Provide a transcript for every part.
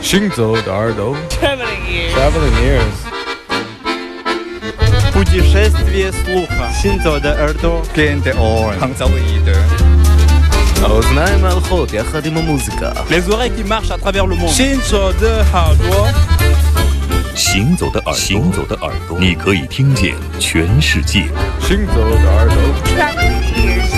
行走的耳朵 Traveling ears. Путешествие слуха. Синзо de耳朵. Gente on. Hangzauide. האוזניים הלכות יחד עם המוזיקה. Les oreilles qui marchent à travers le monde. Shinzo de耳朵. 行走的耳朵，你可以听见全世界。 行走的耳朵 Traveling ears.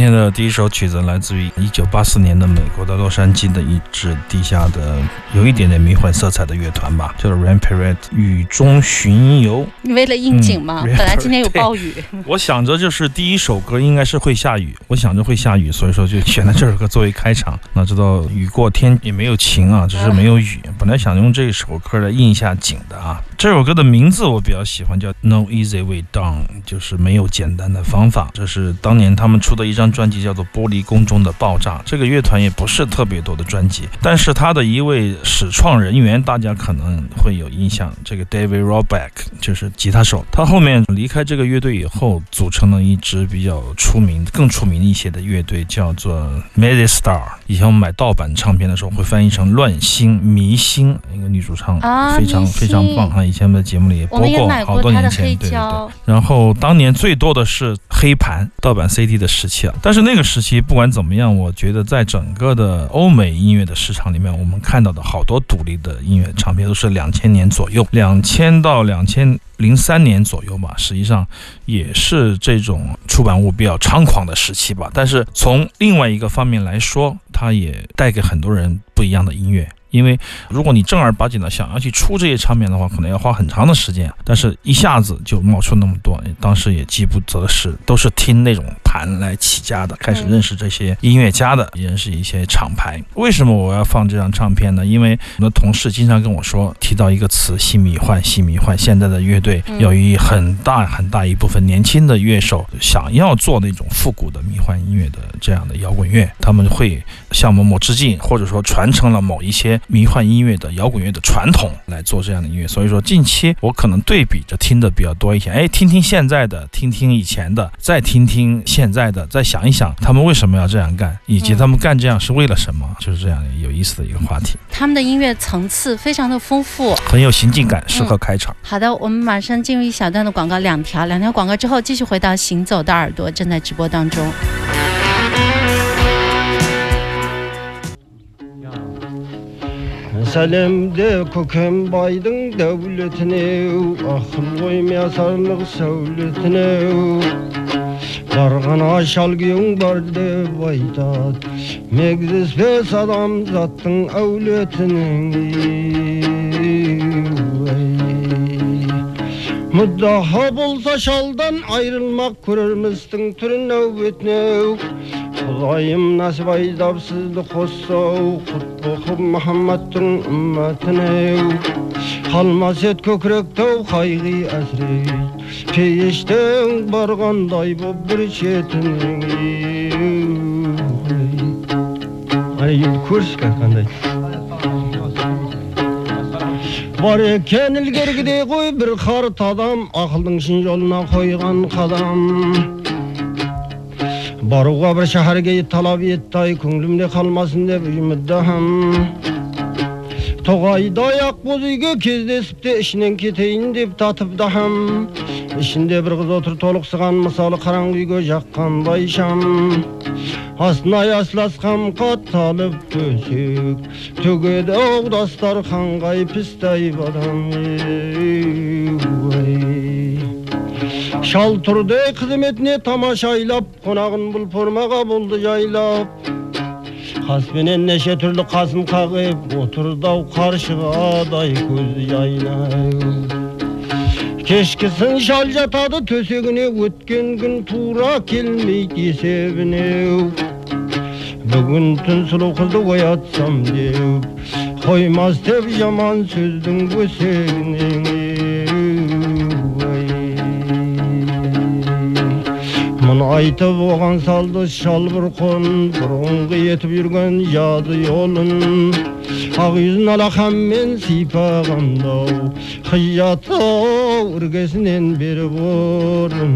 天的第一首曲子来自于1984年的美国的洛杉矶的一支地下的有一点点迷幻色彩的乐团吧，叫做 Rain Parade 雨中巡游。 你为了应景吗？本来今天有暴雨。 我想着就是第一首歌应该是会下雨，我想着会下雨，所以说就选了这首歌作为开场。哪知道雨过天也没有晴啊，只是没有雨。本来想用这首歌来应一下景的啊。这首歌的名字我比较喜欢，叫 No Easy Way Down， 就是没有简单的方法。这是当年他们出的一张专辑，叫做《玻璃宫中的爆炸》。这个乐团也不是特别多的专辑，但是他的一位始创人员大家可能会有印象，这个 David Roback 就是吉他手。他后面离开这个乐队以后，组成了一支比较更出名一些的乐队，叫做 Mad Star。以前我们买盗版唱片的时候会翻译成乱星迷星，一个女主唱非常棒啊！以前的节目里也播过好多年前，对。然后当年最多的是黑盘盗版 CD 的时期啊，但是那个时期不管怎么样，我觉得在整个的欧美音乐的市场里面，我们看到的好多独立的音乐唱片都是2000年左右，2000到2003年左右吧，实际上也是这种出版物比较猖狂的时期吧。但是从另外一个方面来说，它也带给很多人不一样的音乐。因为如果你正儿八经的想要去出这些唱片的话，可能要花很长的时间，但是一下子就冒出那么多，当时也饥不择食，都是听那种盘来起家的，开始认识这些音乐家的，认识一些厂牌。为什么我要放这张唱片呢？因为我的同事经常跟我说，提到一个词，新迷幻。现在的乐队有一很大一部分年轻的乐手想要做那种复古的迷幻音乐的这样的摇滚乐，他们会向某某致敬，或者说传承了某一些迷幻音乐的摇滚乐的传统来做这样的音乐。所以说近期我可能对比着听的比较多一些，听听现在的，听听以前的，再听听现在的，再想一想他们为什么要这样干，以及他们干这样是为了什么，就是这样有意思的一个话题。 他们的音乐层次非常的丰富， 很有行进感，适合开场。 好的，我们马上进入一小段的广告，两条广告之后继续回到行走的耳朵，正在直播当中。 Сәлемде көкембайдың дәулетіне, ақыл оймасарлық сәулетіне. Барған ашал күйің бар деп айтады, мегзеспес адамзаттың әулетінің. Мұддаха болса шалдан айрылмақ көрерміздің түрін әуетіне. Құдайым насіп айдап сізді қоссау, құт оқып Мұхаммадтың үмметіне. Қалмас ет көкіректеу қайғы әсірейт, пейіштен барғандай боп бір шетінің. Енді көрсікі қандай бар екен ілгергідей ғой бір қарт адам, ақылдың шын жолына қойған қадам. Баруға бір шәһәрге талап етті, көңілімде қалмасын деп үмітдім. Тоғайдай ақбоз үйге кездесіп те ішінен кетейін деп татыпдым. Ішінде бір қыз отыр толықсыған, мысалы қараңғы үйге жаққандай шам. Астына ясласқан қатталып төсек, төгеді оғдастар қанғай пістай бадам. Шал тұрды қызметіне тамашайлап, қонағын бұл формаға болды жайлап. Қаспенен неше түрлі қасым қағып, отырдау қаршығадай көзі жайнап. Кешкісін шал жатады төсегіне, өткен күн тура келмейді есебіне. Бүгін түн сұлу қызды оятсам деп, қоймас деп жаман сөздің өсегіне. Мұны айтып оған салды шал бір қон, бұрынғы етіп жүрген жады жолын. Ақ yüzін алақанмен сипағандау, қиятау іргесінен беріп орын.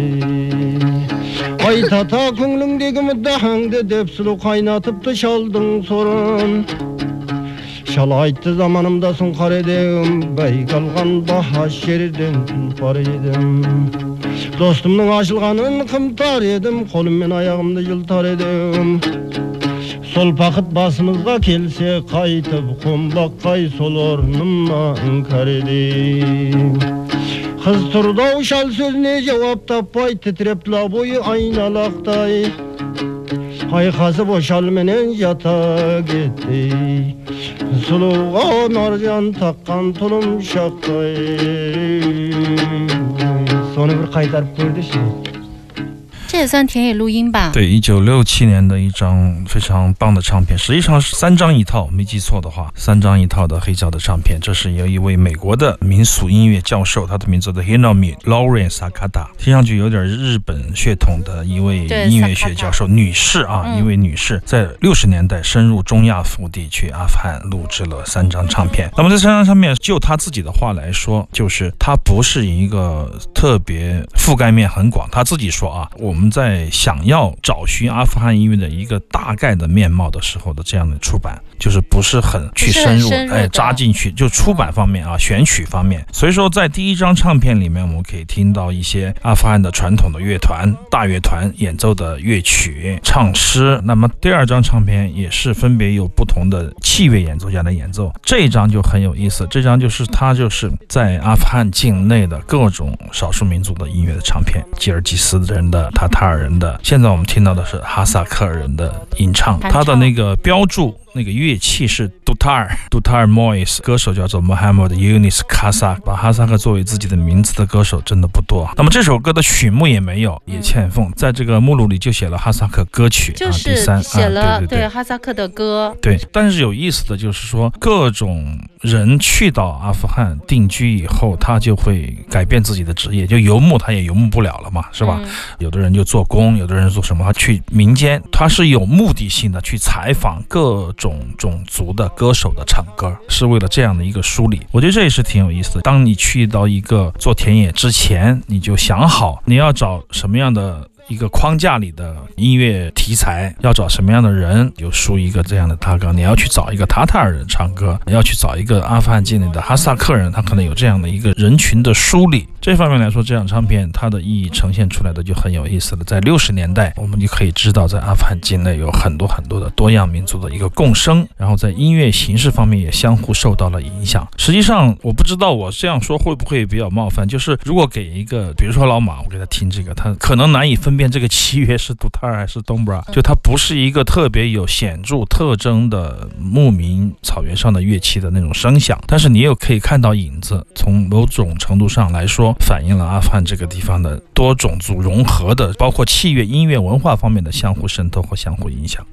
Айтата көңіліңдегі мүддахаңды деп сұлу қайнатыпты шалдың сорын. Шал айтты заманымда сұңқар едім, бәйік алған баһа жерден тұлпар едім. Достымның ашылғанын қымтар едім, қолыммен аяғымды жылтар едім. Сол бақыт басымызға келсе қайтып, қонбаққай сол орныма іңкәр едім. Қыз тұрды-ау шал сөзіне жауап таппай, тітіреп тұла бойы айналақтай. Ayxası boşal menen yata gitti Suluğa marjan takkan tulum şaktay Sonu bir kaytarıp koydu şimdi 这也算田野录音吧？ 对，1967年的一张非常棒的唱片，实际上是3张一套，没记错的话，3张一套的黑胶的唱片。这是由一位美国的民俗音乐教授，他的名字叫 Hinomi Lauren Sakata， 听上去有点日本血统的一位音乐学教授，女士啊，一位女士，在60年代深入中亚腹地，去阿富汗录制了3张唱片。那么这3张唱片，就他自己的话来说，就是他不是一个特别覆盖面很广，他自己说啊，我们在想要找寻阿富汗音乐的一个大概的面貌的时候的这样的出版，就是不是很去深入，扎进去，就出版方面啊，选曲方面。所以说，在第1张唱片里面，我们可以听到一些阿富汗的传统的乐团、大乐团演奏的乐曲、唱诗。那么第2张唱片也是分别有不同的器乐演奏家的演奏。这一张就很有意思，这张就是他就是在阿富汗境内的各种少数民族的音乐的唱片，吉尔吉斯人的、塔塔尔人的，现在我们听到的是哈萨克人的吟唱，他的那个标注那个乐器是 Dutar Mois， 歌手叫做 Mohammad Yunus Kazak， 把哈萨克作为自己的名字的歌手真的不多。那么这首歌的曲目也没有，也欠奉，在这个目录里就写了哈萨克歌曲， 就是写了对哈萨克的歌。 对，但是有意思的就是说，各种人去到阿富汗定居以后，他就会改变自己的职业，就游牧他也游牧不了了嘛，是吧？有的人就做工，有的人做什么，他去民间，他是有目的性的去采访各种种族的歌手的唱歌，是为了这样的一个梳理。我觉得这也是挺有意思的。当你去到一个做田野之前，你就想好你要找什么样的一个框架里的音乐题材，要找什么样的人，有梳一个这样的大纲。你要去找一个塔塔尔人唱歌，要去找一个阿富汗境内的哈萨克人，他可能有这样的一个人群的梳理。这方面来说，这张唱片它的意义呈现出来的就很有意思了。在60年代，我们就可以知道，在阿富汗境内有很多很多的多样民族的一个共生，然后在音乐形式方面也相互受到了影响。实际上，我不知道我这样说会不会比较冒犯，就是如果给一个，比如说老马，我给他听这个，他可能难以分辨这个器乐是杜塔尔还是东布拉，就它不是一个特别有显著特征的牧民草原上的乐器的那种声响，但是你又可以看到影子，从某种程度上来说，反映了阿富汗这个地方的多种族融合的，包括器乐、音乐、文化方面的相互渗透和相互影响。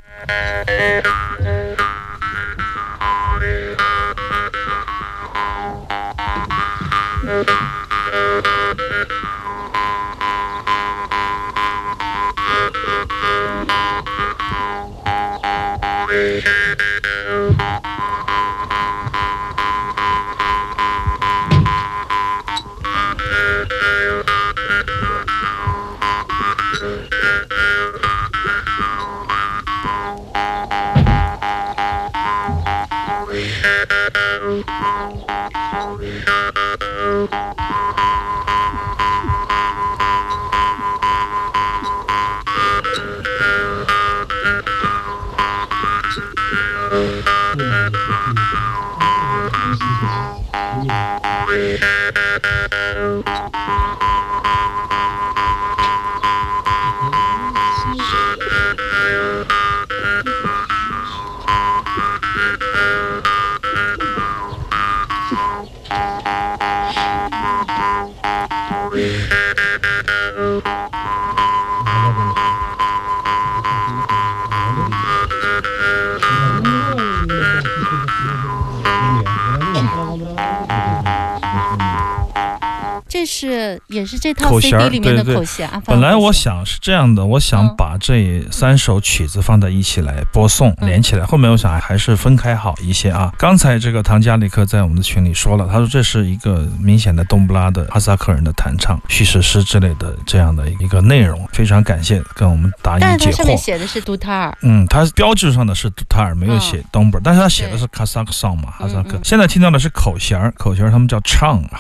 也是这套 CD 里面的口弦。 本来我想是这样的，我想把这3首曲子放在一起来播送，连起来。后面我想还是分开好一些啊。刚才这个唐加里克在我们的群里说了，他说这是一个明显的东布拉的哈萨克人的弹唱、叙事诗之类的这样的一个内容，非常感谢跟我们答疑解惑。 但是他上面写的是杜塔尔， 他标志上的是杜塔尔，没有写东布拉，但是他写的是 Kazakh song 嘛，哈萨克。现在听到的是口弦，口弦他们叫 Chang Hop，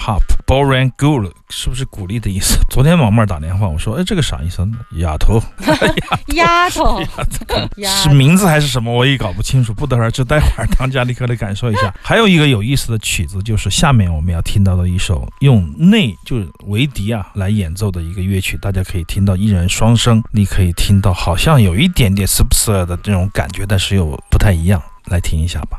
boring good 是不是鼓励的意思？昨天王妹儿打电话，我说，哎，这个啥意思？丫头， 丫头， 是名字还是什么？我也搞不清楚，不得而知。待会儿当家立刻来感受一下。还有一个有意思的曲子，就是下面我们要听到的一首用就是维迪来演奏的一个乐曲，大家可以听到一人双声，你可以听到好像有一点点 subs 的这种感觉，但是又不太一样，来听一下吧。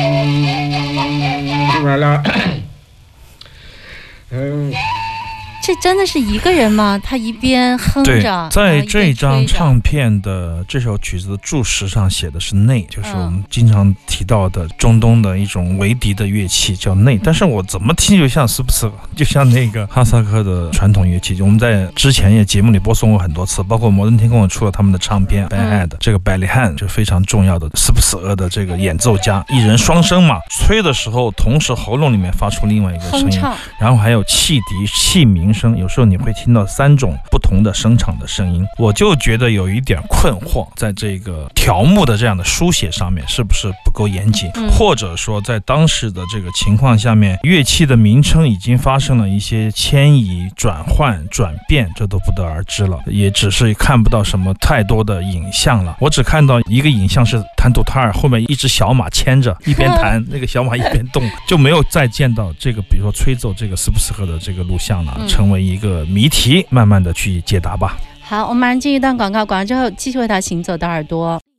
这真的是一个人吗？他一边哼对着， 在这张唱唱片的这首曲子的注释上写的是内，就是我们经常提到的中东的一种维笛的乐器叫内，但是我怎么听就像斯普斯，就像那个哈萨克的传统乐器。我们在之前也节目里播送过很多次，包括摩登天空出了他们的唱片 Bad， 这个百里汉就非常重要的斯普斯的这个演奏家，一人双声嘛，吹的时候同时喉咙里面发出另外一个声音，然后还有汽笛器鸣声，有时候你会听到3种不同的声场的声音。我就觉得有一点困惑，在这个条目的这样的书写上面是不是不够严谨，或者说在当时的这个情况下面，乐器的名称已经发生了一些迁移、转换、转变，这都不得而知了，也只是看不到什么太多的影像了。我只看到一个影像是弹图塔尔后面一只小马牵着，一边弹那个小马一边动，就没有再见到这个比如说吹奏这个斯普斯赫的这个录像了，成为一个谜题，慢慢的去解答吧。 好，我们马上进一段广告，广告之后继续回到行走的耳朵。